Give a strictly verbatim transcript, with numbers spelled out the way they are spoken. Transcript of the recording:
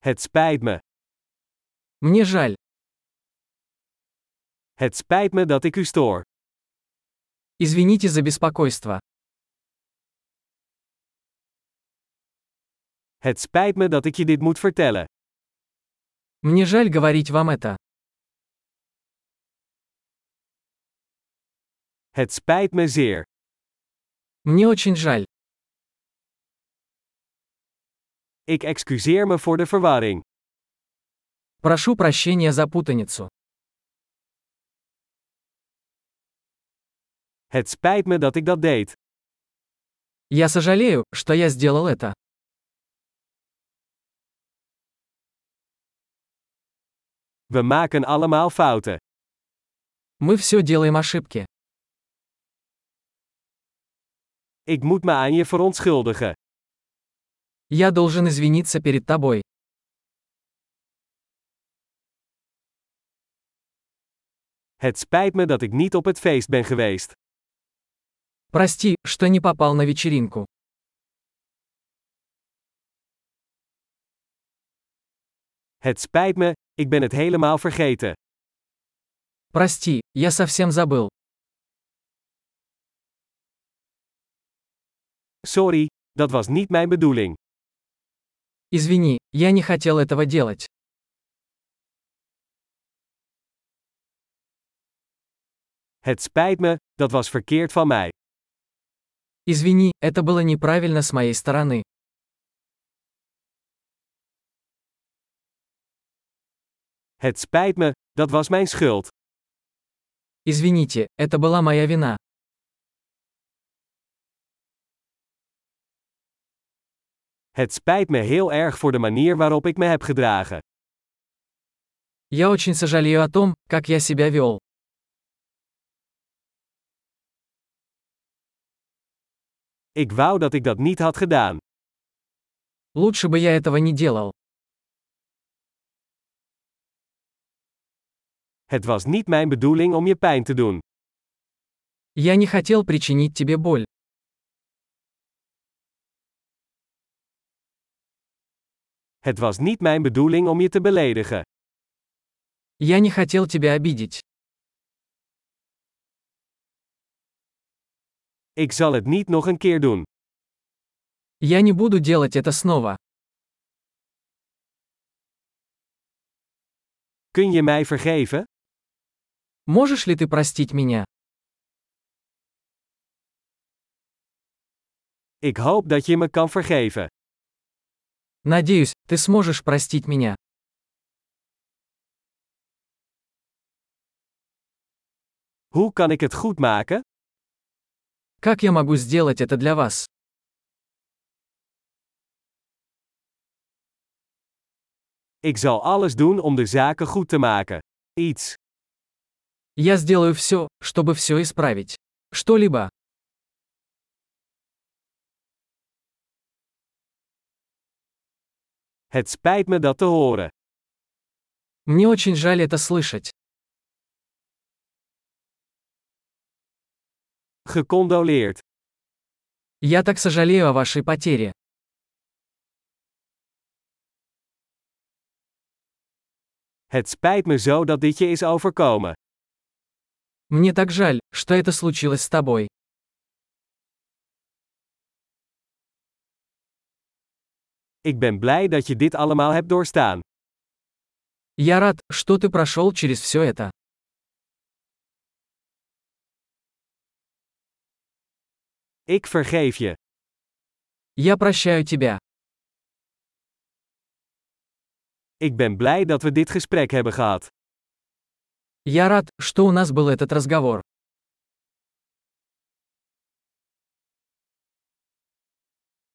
Het spijt me. Мне жаль. Het spijt me dat ik u stoor. Извините за беспокойство. Het spijt me dat ik je dit moet vertellen. Мне жаль говорить вам это. Het spijt me zeer. Мне очень жаль. Ik excuseer me voor de verwarring. Прошу прощения за путаницу. Het spijt me dat ik dat deed. Я сожалею, что я сделал это. We maken allemaal fouten. Мы все делаем ошибки. Ik moet me aan je verontschuldigen. Я должен извиниться перед тобой. Het spijt me dat ik niet op het feest ben geweest. Прости, что не попал на вечеринку. Het spijt me, ik ben het helemaal vergeten. Прости, я совсем забыл. Sorry, dat was niet mijn bedoeling. Извини, я не хотел этого делать. Het spijt me, dat was verkeerd van mij. Извини, это было неправильно с моей стороны. Het spijt me, dat was mijn schuld. Извините, это была моя вина. Het spijt me heel erg voor de manier waarop ik me heb gedragen. Я очень сожалею о том, как я себя вел. Ik wou dat ik dat niet had gedaan. Лучше бы я этого не делал. Het was niet mijn bedoeling om je pijn te doen. Я не хотел причинить тебе боль. Het was niet mijn bedoeling om je te beledigen. Я не хотел тебя обидеть. Ik zal het niet nog een keer doen. Я не буду делать это снова. Kun je mij vergeven? Можешь ли ты простить меня? Ik hoop dat je me kan vergeven. Надеюсь, ты сможешь простить меня. Hoe kan ik het goed maken? Как я могу сделать это для вас? Ik zal alles doen om de zaken goed te maken. Iets. Я сделаю все, чтобы все исправить. Что-либо. Het spijt me dat te horen. Мне очень жаль это слышать. Gecondoleerd. Я так сожалею о вашей потере. Het spijt me zo dat dit je is overkomen. Мне так жаль, что это случилось с тобой. Ik ben blij dat je dit allemaal hebt doorstaan. Я рад, что ты прошел через все это. Ik vergeef je. Я прощаю тебя. Ik ben blij dat we dit gesprek hebben gehad. Я рад, что у нас был этот разговор.